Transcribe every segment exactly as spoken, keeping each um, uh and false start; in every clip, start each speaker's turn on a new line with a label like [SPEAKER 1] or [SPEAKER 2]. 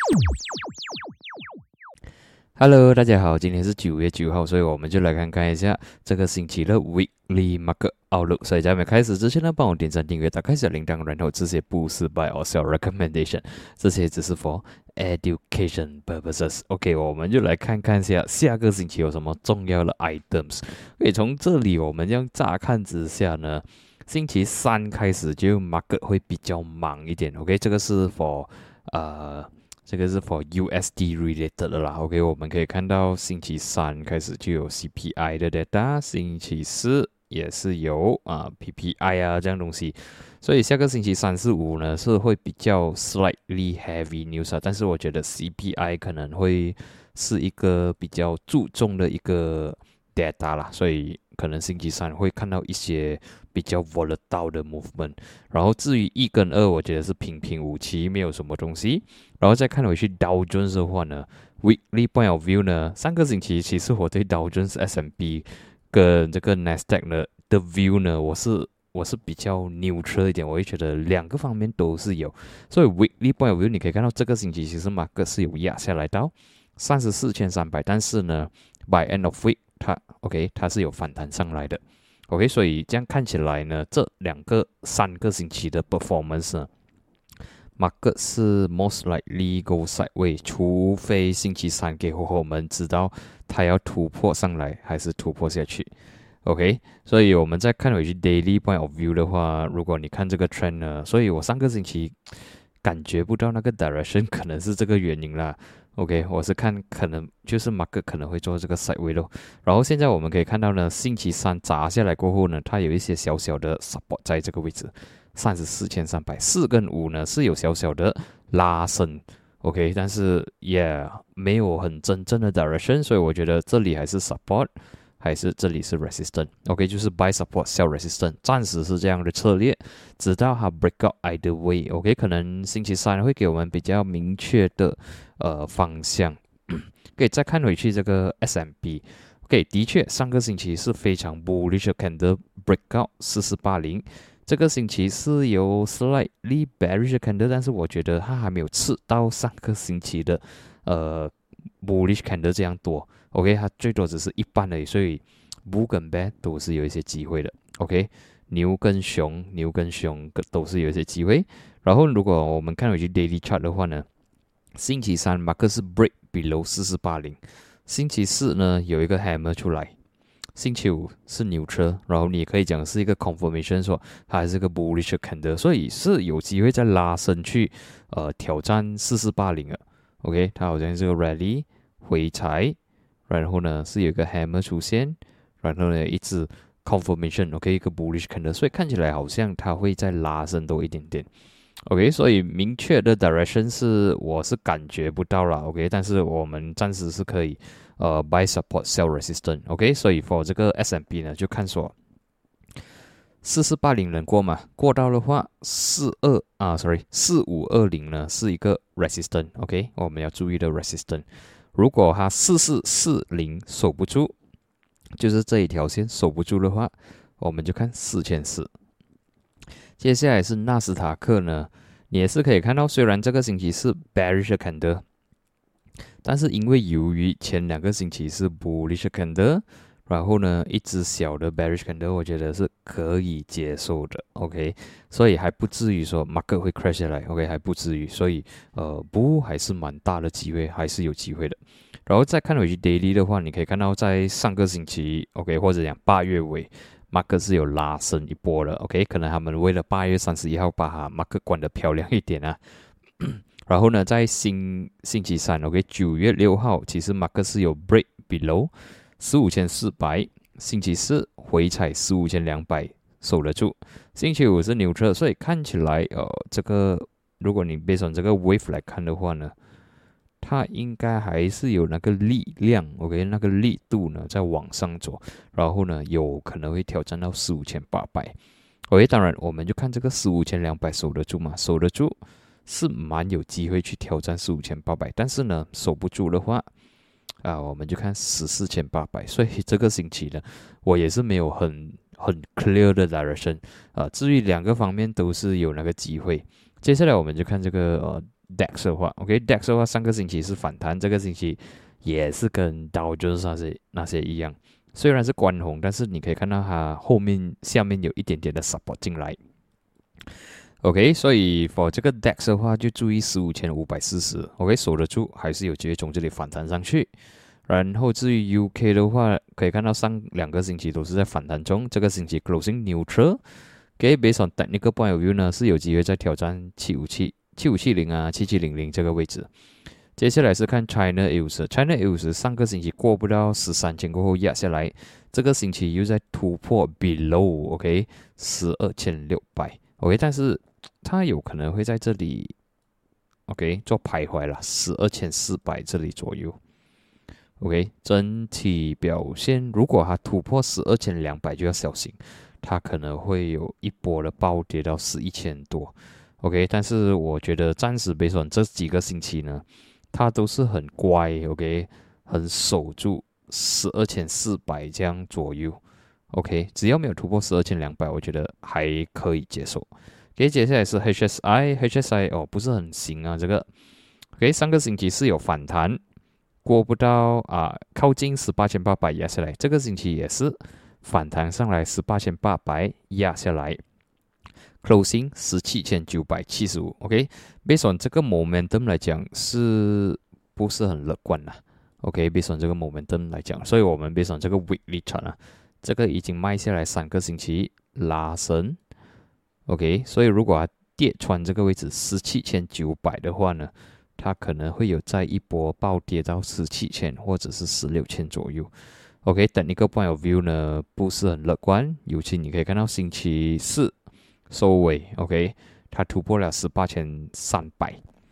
[SPEAKER 1] Hello，大家好，今天是九月九号，所以我们就来看看一下这个星期的 Weekly Market Outlook。所以在没开始之前呢，帮我点赞、订阅、打开小铃铛，然后这些不是 Buy or Sell Recommendation，这些只是 for education purposes。OK， 我们就来看看一下下个星期有什么重要的 items。OK，从这里我们这样乍看之下呢，星期三开始就 market 会比较忙一点。OK， 这个是 for 呃。这个是 for U S D related 的啦 ，OK， 我们可以看到星期三开始就有 C P I 的 data， 星期四也是有啊 P P I 啊这样东西，所以下个星期三四五呢是会比较 slightly heavy news 啊，但是我觉得 C P I 可能会是一个比较注重的一个 data 啦，所以可能星期三会看到一些比较 volatile 的 movement， 然后至于一跟二，我觉得是平平无奇，没有什么东西。然后再看回去 Dow Jones 的话呢 ，Weekly Point of View 呢，上个星期其实我对 Dow Jones S and P 跟这个 Nasdaq 呢的 view 呢，我是我是比较 neutral 一点，我会觉得两个方面都是有。所以 Weekly Point of View 你可以看到这个星期其实马克是有压下来到三十四千三百，但是呢 ，by end of week 它 OK 它是有反弹上来的。OK， 所以这样看起来呢，这两个三个星期的 performance 呢。Market 是 most likely go sideways， 除非星期三给我们知道它要突破上来还是突破下去。OK， 所以我们再看回去 daily point of view 的话，如果你看这个 trend 呢，所以我上个星期感觉不到那个 direction， 可能是这个原因啦。OK， 我是看可能就是 market 可能会做这个 sideways 咯。然后现在我们可以看到呢，星期三砸下来过后呢，它有一些小小的 support 在这个位置。三十四千三百四跟五呢是有小小的拉升 ，OK， 但是也没有很真正的 direction， 所以我觉得这里还是 support， 还是这里是 resistance，OK， 就是 buy support sell resistance， 暂时是这样的策略，直到它 break out either way，OK， 可能星期三会给我们比较明确的呃方向。可以再看回去这个 S and P，OK， 的确上个星期是非常 bullish candle break out 四四八零。这个星期是有 slightly bearish candle， 但是我觉得它还没有吃到上个星期的呃 bullish candle 这样多。OK， 它最多只是一半而已，所以 bull 跟 bear 都是有一些机会的。OK， 牛跟熊，牛跟熊都是有一些机会。然后如果我们看回去 daily chart 的话呢，星期三 market 是 break below 四四八零，星期四呢有一个 hammer 出来。星期五是牛车，然后你也可以讲是一个 confirmation， 说它还是个 bullish candle， 所以是有机会再拉升去呃挑战四四八零的。OK， 它好像是个 rally 回踩，然后呢是有一个 hammer 出现，然后呢一直 confirmation，OK， 一个 bullish candle， 所以看起来好像它会再拉升多一点点。OK， 所以明确的 direction 是我是感觉不到了 ，OK， 但是我们暂时是可以呃 buy support sell resistance，OK， 所以 for 这个 S and P 呢就看说四四八零能过吗？过到的话四二啊 ，sorry 四五二零呢是一个 resistance，OK， 我们要注意的 resistance。如果它四四四零守不住，就是这一条线守不住的话，我们就看四千四。接下来是纳斯达克呢，你也是可以看到，虽然这个星期是 bearish candle， 但是因为由于前两个星期是 bullish candle， 然后呢一只小的 bearish candle， 我觉得是可以接受的 ，OK， 所以还不至于说 market 会 crash 下来 ，OK， 还不至于，所以呃不还是蛮大的机会，还是有机会的。然后再看回去 daily 的话，你可以看到在上个星期 ，OK， 或者讲八月尾。market 是有拉升一波的 ，OK， 可能他们为了八月三十一号把它 market 关得漂亮一点啊。然后呢，在星星期三 ，OK， 九月六号，其实 market 是有 break below 十五千四百，星期四回踩十五千两百守得住，星期五是牛车，所以看起来呃，这个如果你 based on 这个 wave 来看的话呢。它应该还是有那个力量 ，OK， 那个力度呢在往上走，然后呢有可能会挑战到四五千八百 ，OK， 当然我们就看这个四五千两百守得住嘛，守得住是蛮有机会去挑战四五千八百，但是呢守不住的话，啊，我们就看十四千八百，所以这个星期呢，我也是没有很很 clear 的 direction 啊，至于两个方面都是有那个机会。接下来我们就看这个呃 D A X 的话 ，OK，D A X 的话上个星期是反弹，这个星期也是跟Dow Jones那些那些一样，虽然是关红，但是你可以看到它后面下面有一点点的 support 进来。OK， 所以 for 这个 D A X 的话，就注意十五千五百四十 ，OK， 守得住，还是有机会从这里反弹上去。然后至于 U K 的话，可以看到上两个星期都是在反弹中，这个星期 closing neutral。OK，based on technical point of view 呢，是有机会再挑战七五七、七五七零啊、七七零零这个位置。接下来是看 China A 五十 ，China A 五十上个星期过不到十三千过后压下来，这个星期又在突破 below OK 十二千六百 OK， 但是它有可能会在这里 OK 做徘徊了，十二千四百这里左右。OK， 整体表现如果它突破十二千两百就要小心，它可能会有一波的暴跌到十一千多。OK， 但是我觉得暂时别说这几个星期呢，它都是很乖 ，OK， 很守住十二千四百这样左右。OK， 只要没有突破十二千两百，我觉得还可以接受。OK， 接下来是 H S I，H S I 哦不是很行啊这个。OK， 上个星期是有反弹。过不到啊，靠近十八千八百压下来，这个星期也是反弹上来十八千八百压下来 ，closing 十七千九百七十五 ，OK，based on 这个 momentum 来讲是不是很乐观啦 ？OK，based on 这个 momentum 来讲，所以我们 based on 这个 weekly chart 啊，这个已经卖下来三个星期拉升 ，OK， 所以如果它跌穿这个位置十七千九百的话呢？它可能会有再一波暴跌到十七千或者是十六千左右。OK， 等一个 point of view 呢不是很乐观，尤其你可以看到星期四收尾 ，OK， 它突破了十八千三百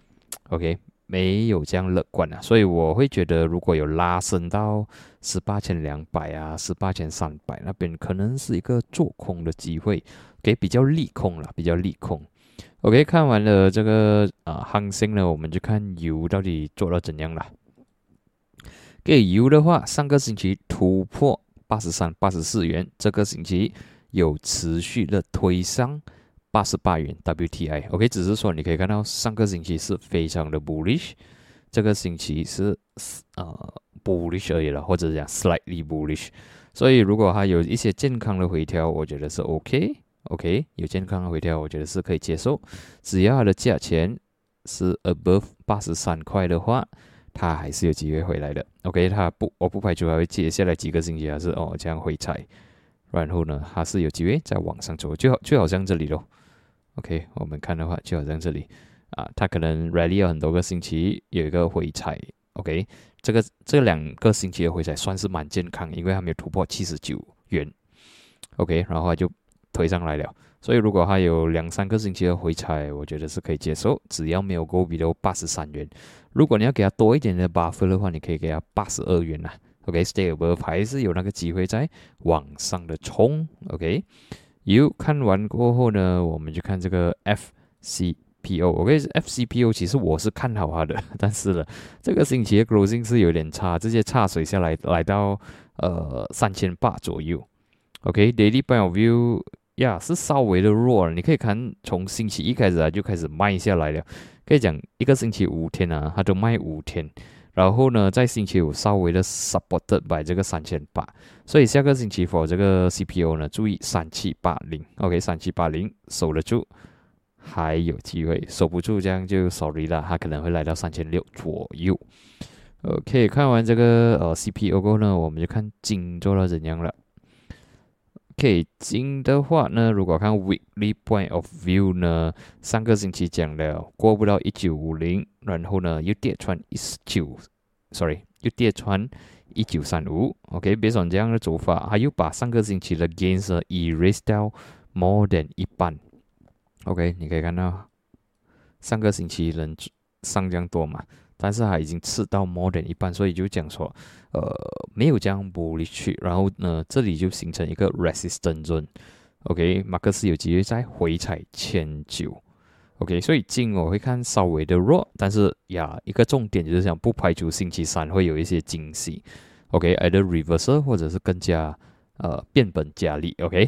[SPEAKER 1] ，OK， 没有这样乐观啊，所以我会觉得如果有拉升到十八千两百啊、十八千三百那边，可能是一个做空的机会，给比较利空啦，比较利空。OK， 看完了这个啊行情呢，我们就看油到底做到怎样啦。给油的话，上个星期突破八十三、八十四元，这个星期有持续的推上八十八元 W T I。OK， 只是说你可以看到上个星期是非常的 bullish， 这个星期是呃 bullish 而已了，或者讲 slightly bullish。所以如果它有一些健康的回调，我觉得是 OK。OK， 有健康的回调，我觉得是可以接受。只要它的价钱是 above 八十三块的话，它还是有机会回来的。OK， 它不，我不排除还会接下来几个星期还是哦这样回踩，然后呢，它是有机会再往上走，就好就好像这里咯。OK， 我们看的话，就好像这里啊，它可能 rally 了很多个星期，有一个回踩。OK， 这个这两个星期的回踩算是蛮健康，因为它没有突破七十九元。OK， 然后它就推上来了，所以如果它有两三个星期的回踩，我觉得是可以接受，只要没有 go below 八十三元。如果你要给它多一点的 buffer 的话，你可以给它八十二元啦。OK，stay above 还是有那个机会在往上的冲。OK， 有看完过后呢，我们就看这个 F C P O。OK，F C P O 其实我是看好它的，但是呢，这个星期的 closing 是有点差，直接差水下来，来到呃三千八左右。OK，daily point of view。呀， yeah, 是稍微的弱了。你可以看从星期一开始啊就开始卖下来了，可以讲一个星期五天啊，它都卖五天。然后呢，在星期五稍微的 supported by 这个三千八，所以下个星期 for 这个 C P O 呢，注意三七八零 ，OK， 三七八零守得住，还有机会；守不住这样就 sorry 啦，它可能会来到三千六左右。OK， 看完这个呃 C P O 过后呢，我们就看金做到怎样了。OK， 金的话呢，如果看 weekly point of view 呢，上个星期讲了过不到一九五零，然后呢又跌穿一九 ，sorry， 又跌穿一九三五。OK，based on 这样的走法，它又把上个星期的 gains 呢 erase 掉 more than 一半。OK， 你可以看到上个星期人上这样多嘛，但是它已经吃到 more than 一半，所以就讲说，呃，没有这样 bullish 去，然后呢，这里就形成一个 resistance zone。OK， 马克思有机会再回踩千九。OK， 所以金我会看稍微的弱，但是呀，一个重点就是想不排除星期三会有一些惊喜。OK，either reversal 或者是更加呃变本加厉。OK，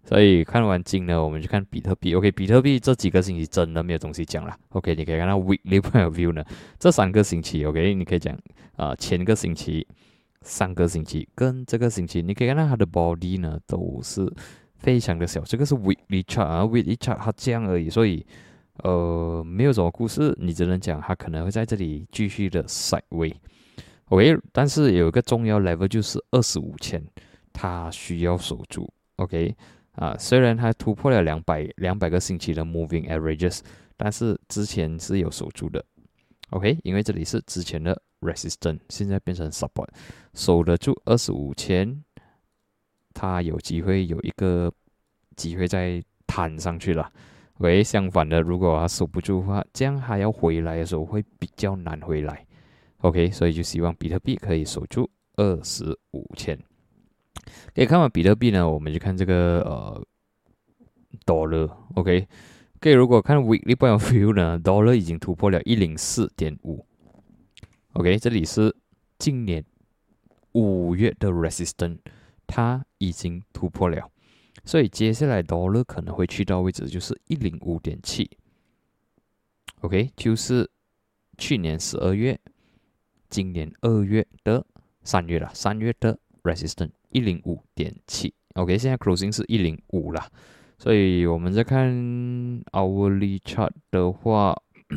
[SPEAKER 1] 所以看完金呢，我们就看比特币。OK， 比特币这几个星期真的没有东西讲了。OK， 你可以看到 weekly point of view 呢，这三个星期 OK， 你可以讲啊、呃、前个星期、上个星期跟这个星期，你可以看到它的 body 呢都是非常的小。这个是 weekly chart 啊 ，weekly chart 它这样而已，所以呃没有什么故事，你只能讲它可能会在这里继续的 sideway。OK， 但是有一个重要 level 就是二十五千，它需要守住。OK。啊，虽然它突破了两百两百个星期的 moving averages， 但是之前是有守住的 ，OK， 因为这里是之前的 resistance， 现在变成 support， 守得住二十五千，它有机会有一个机会再弹上去了。OK， 相反的，如果它守不住的话，这样它要回来的时候会比较难回来。OK， 所以就希望比特币可以守住二十五千。可以看完比特币呢，我们就看这个呃 dollar，OK， 可以如果看 weekly point of view 呢 ，dollar 已经突破了 一零四点五，OK， 这里是今年五月的 resistance， 它已经突破了，所以接下来 dollar 可能会去到位置就是 一零五点七 ，OK， 就是去年十二月，今年二月的三月了，三月的 resistance。一零五点七 OK， 现在 closing 是一零五啦，所以我们在看 hourly chart 的话，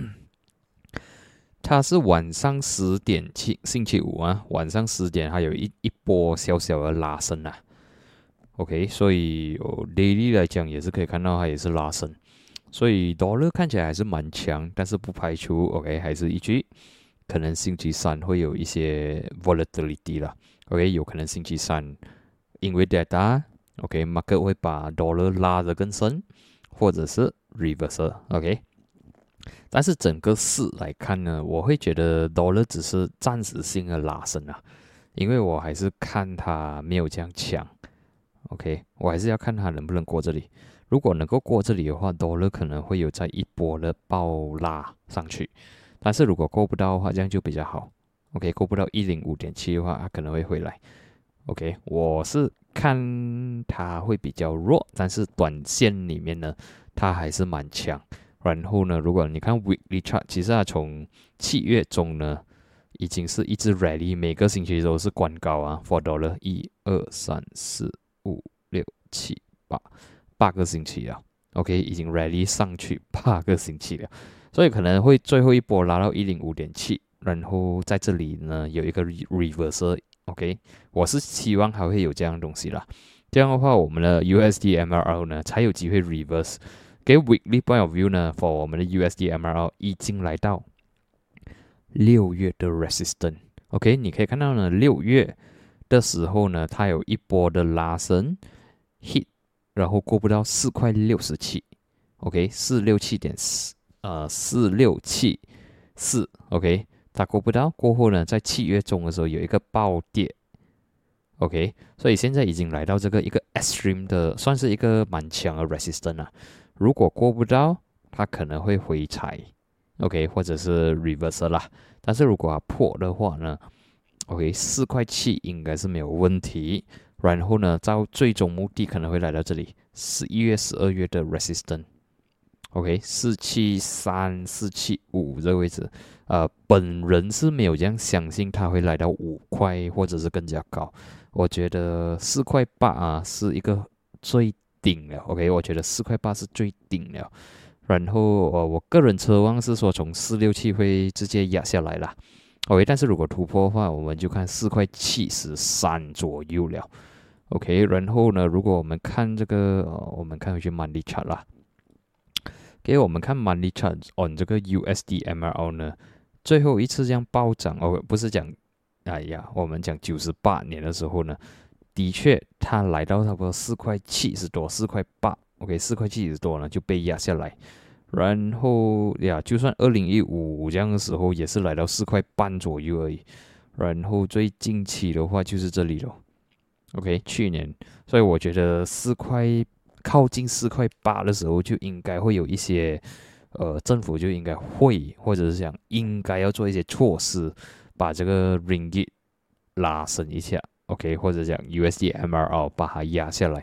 [SPEAKER 1] 它是晚上十点七，星期五啊，晚上十点还有一一波小小的拉升啊 OK， 所以、哦、daily 来讲也是可以看到它也是拉升，所以 dollar 看起来还是蛮强，但是不排除 OK 还是一句可能星期三会有一些 volatility 啦。OK， 有可能星期三因为 data，OK，market、okay, 会把 dollar 拉得更深，或者是 reverse，OK。但是整个市来看呢，我会觉得 dollar 只是暂时性的拉升啊，因为我还是看它没有这样强 ，OK， 我还是要看它能不能过这里。如果能够过这里的话 ，dollar 可能会有在一波的暴拉上去，但是如果过不到的话，这样就比较好。OK， 过不到 一零五点七 的话，它可能会回来。OK， 我是看它会比较弱，但是短线里面呢，它还是蛮强。然后呢，如果你看 weekly chart， 其实它从七月中呢，已经是一直 rally， 每个星期都是关高啊 ，for dollar 一二三四五六七八八个星期了。OK， 已经 rally 上去八个星期了，所以可能会最后一波拉到 一零五点七。然后在这里呢有一个 reverse，OK， 我是希望还会有这样的东西啦。这样的话，我们的 U S D M R L 呢才有机会 reverse。给 weekly point of view 呢 ，for 我们的 U S D M R L 已经来到六月的 resistance。OK， 你可以看到呢，六月的时候呢，它有一波的拉升 hit， 然后过不到四块六十七。OK， 四六七点四，呃，四六七四。OK。它过不到，过后呢，在七月中的时候有一个暴跌 ，OK， 所以现在已经来到这个一个 extreme 的，算是一个蛮强的 resistance 啊。如果过不到，它可能会回踩 ，OK， 或者是 reverse 啦。但是如果它破的话呢 ，OK， 四块七应该是没有问题。然后呢，到最终目的可能会来到这里，十一月、十二月的 resistance。OK， 四七三、四七五这个位置，呃，本人是没有这样相信它会来到五块或者是更加高。我觉得四块八啊是一个最顶了 ，OK， 我觉得四块八是最顶了。然后呃，我个人奢望是说从四六七会直接压下来啦 ，OK， 但是如果突破的话，我们就看四块七十三左右了 ，OK。然后呢，如果我们看这个，呃、我们看回去 monthly chart 啦。给我们看 monthly chart on 这个 U S D M R L 呢，最后一次这样暴涨哦，不是讲，哎呀，我们讲九十八年的时候呢，的确它来到差不多四块七十多，四块八 ，OK， 四块七十多呢就被压下来，然后呀，就算二零一五这样的时候也是来到四块半左右而已，然后最近期的话就是这里了 ，OK， 去年，所以我觉得四块。靠近四块八的时候，就应该会有一些，呃，政府就应该会，或者是讲应该要做一些措施，把这个 ringgit 拉升一下 ，OK， 或者讲 U S D M R L 把它压下来，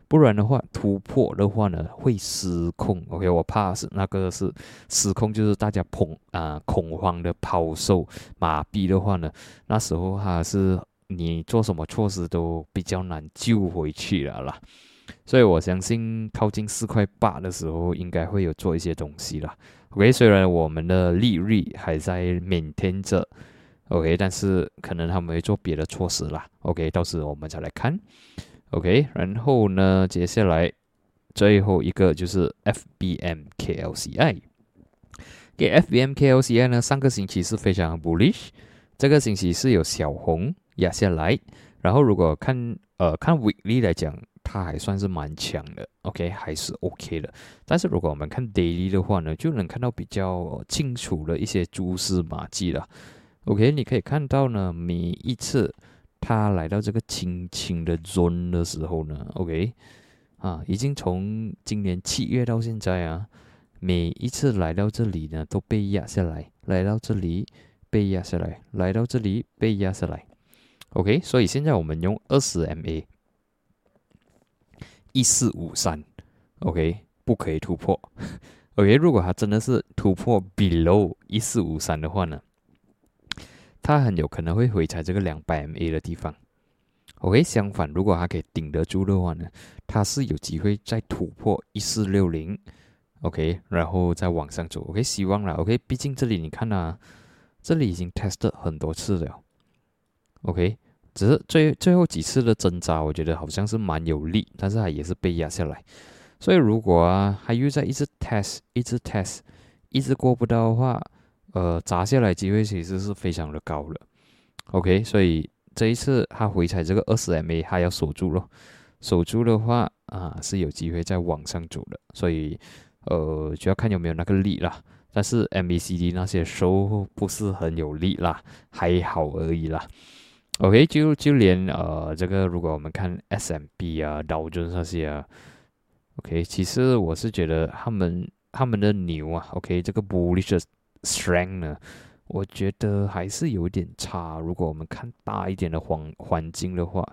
[SPEAKER 1] 不然的话突破的话呢会失控。OK， 我怕是那个是失控，就是大家恐啊、呃、恐慌的抛售麻痹的话呢，那时候它是你做什么措施都比较难救回去了啦。所以我相信靠近四块八的时候，应该会有做一些东西啦。OK， 虽然我们的利率还在maintain着 ，OK， 但是可能他们会做别的措施啦。OK， 到时我们再来看。OK， 然后呢，接下来最后一个就是 F B M K L C I。给 F B M K L C I 呢，上个星期是非常 bullish， 这个星期是有小红压下来，然后如果看呃看 weekly 来讲，它还算是蛮强的 ，OK， 还是 OK 的。但是如果我们看 daily 的话呢，就能看到比较清楚的一些蛛丝马迹了。OK， 你可以看到呢，每一次它来到这个轻轻的 zone 的时候呢 ，OK， 啊，已经从今年七月到现在啊，每一次来到这里呢，都被压下来，来到这里被压下来，来到这里被压下来。OK， 所以现在我们用二十 M A。一四五三 ，OK， 不可以突破。OK， 如果它真的是突破 below 一四五三的话呢，它很有可能会回踩这个两百 M A 的地方。OK， 相反，如果它可以顶得住的话呢，它是有机会再突破一四六零 ，OK， 然后再往上走。OK， 希望啦 ，OK， 毕竟这里你看啊，这里已经 test 很多次了 ，OK。只是最最后几次的挣扎，我觉得好像是蛮有力，但是它也是被压下来。所以如果啊，它又在一直 test， 一直 test， 一直过不到的话，呃，砸下来机会其实是非常的高的。OK， 所以这一次它回踩这个二十 M A， 它要守住咯。守住的话啊，是有机会再往上走的。所以呃，就要看有没有那个力啦。但是 M A C D 那些收不是很有力啦，还好而已啦。OK， 就就连呃这个，如果我们看 S and P 啊、道琼那些啊 ，OK， 其实我是觉得他们他们的牛啊 ，OK， 这个 bullish strength 呢，我觉得还是有点差。如果我们看大一点的环环境的话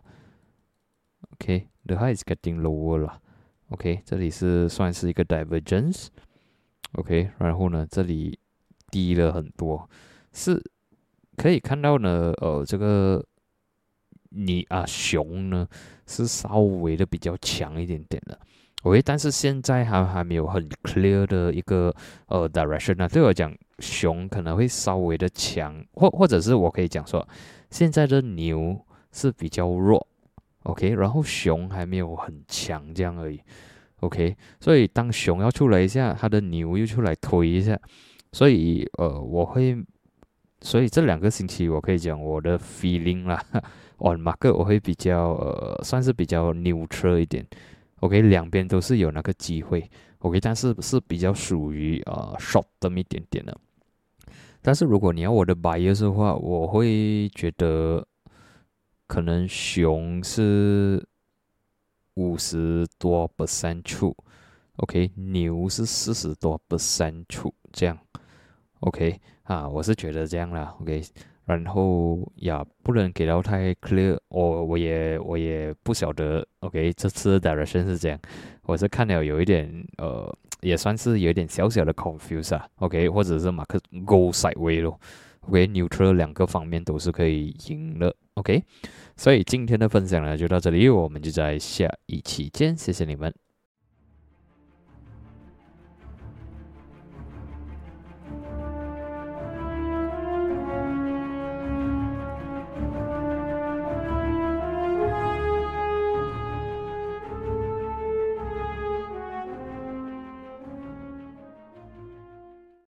[SPEAKER 1] ，OK，the high is getting lower 了 ，OK， 这里是算是一个 divergence，OK， 然后呢，这里低了很多，是可以看到呢，呃，这个。你啊，熊呢是稍微的比较强一点点的 ，OK， 但是现在还还没有很 clear 的一个呃 direction 啊。对我讲，熊可能会稍微的强，或或者是我可以讲说，现在的牛是比较弱 ，OK， 然后熊还没有很强这样而已 ，OK， 所以当熊要出来一下，它的牛又出来推一下，所以呃我会，所以这两个星期我可以讲我的 feeling 啦。on market 我会比较呃，算是比较 neutral 一点 ，OK， 两边都是有那个机会 ，OK， 但是是比较属于呃 short term 一点点的。但是如果你要我的 bias 的话，我会觉得可能熊是五十多 percent 出 ，OK， 牛是四十多 percent 出，这样 ，OK， 啊，我是觉得这样啦 ，OK。然后呀，不能给到太 clear， 我我也我也不晓得 ，OK， 这次的 direction 是这样，我是看了有一点呃，也算是有一点小小的 confuse 啊 ，OK， 或者是马克 go sideway 咯 ，OK，neutral 两个方面都是可以赢的 ，OK， 所以今天的分享呢就到这里，我们就在下一期见，谢谢你们。